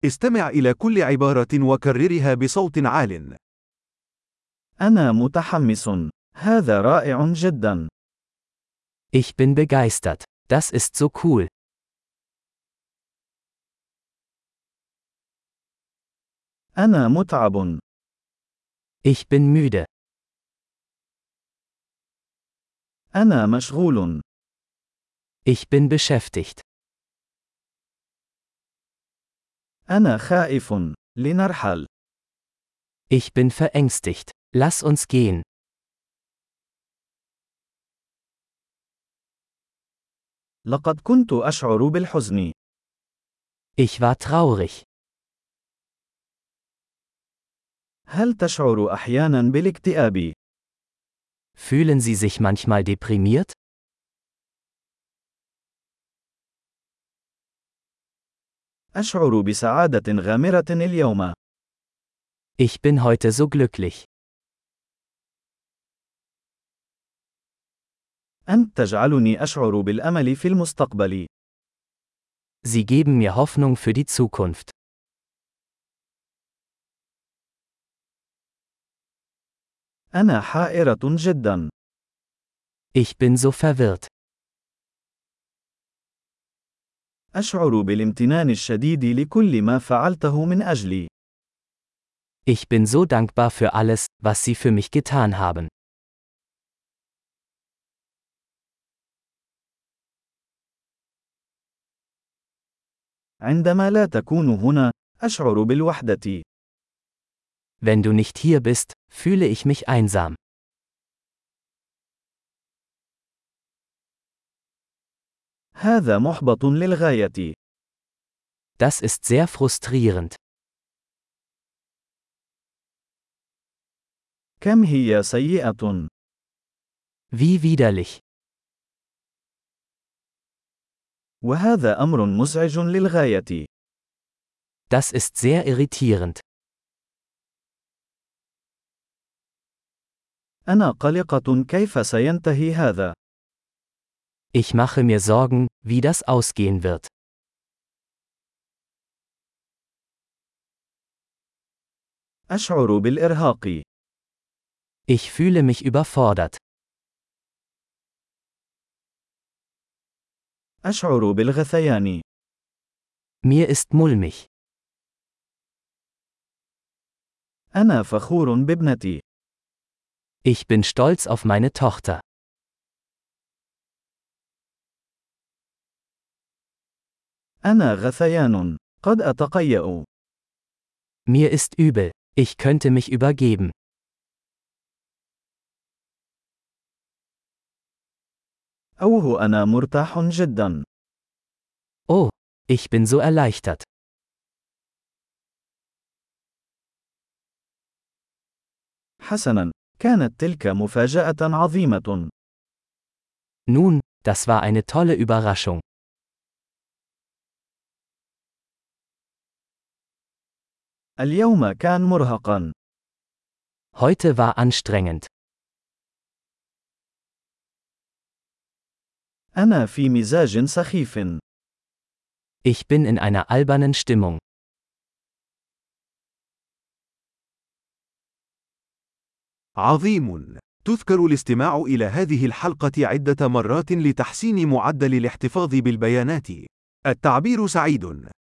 استمع إلى كل عبارة وكررها بصوت عال. أنا متحمس. هذا رائع جدا. Ich bin begeistert. Das ist so cool. أنا متعب. Ich bin müde. أنا مشغول. Ich bin beschäftigt. أنا خائف. لنرحل. Ich bin verängstigt. Lass uns gehen. لقد كنت أشعر بالحزن. Ich war traurig. هل تشعر أحيانا بالاكتئاب؟ Fühlen Sie sich manchmal deprimiert? أشعر بسعادة غامرة اليوم. Ich bin heute so glücklich. أنت تجعلني أشعر بالأمل في المستقبل. Sie geben mir Hoffnung für die Zukunft. أنا حائرة جدا. Ich bin so verwirrt. أشعر بالامتنان الشديد لكل ما فعلته من أجلي. Ich bin so dankbar für alles, was Sie für mich getan haben. عندما لا تكون هنا، أشعر بالوحدة. Wenn du nicht hier bist, fühle ich mich einsam. هذا محبط للغاية. Das ist sehr frustrierend. كم هي سيئة. Wie widerlich. وهذا أمر مزعج للغاية. Das ist sehr irritierend. أنا قلقة كيف سينتهي هذا. Ich mache mir Sorgen, wie das ausgehen wird. أشعر بالإرهاق. Ich fühle mich überfordert. أشعر بالغثيان. Mir ist mulmig. أنا فخور بابنتي. Ich bin stolz auf meine Tochter. أنا غثيان. قد أتقيأ. Mir ist übel. Ich könnte mich übergeben. أوه أنا مرتاح جدا. Oh, ich bin so erleichtert. حسنا، كانت تلك مفاجأة عظيمة. Nun, das war eine tolle Überraschung. اليوم كان مرهقا. Heute war anstrengend. أنا في مزاج سخيف. Ich bin in einer albernen Stimmung. عظيم. تذكر الاستماع إلى هذه الحلقة عدة مرات لتحسين معدل الاحتفاظ بالبيانات. التعبير سعيد.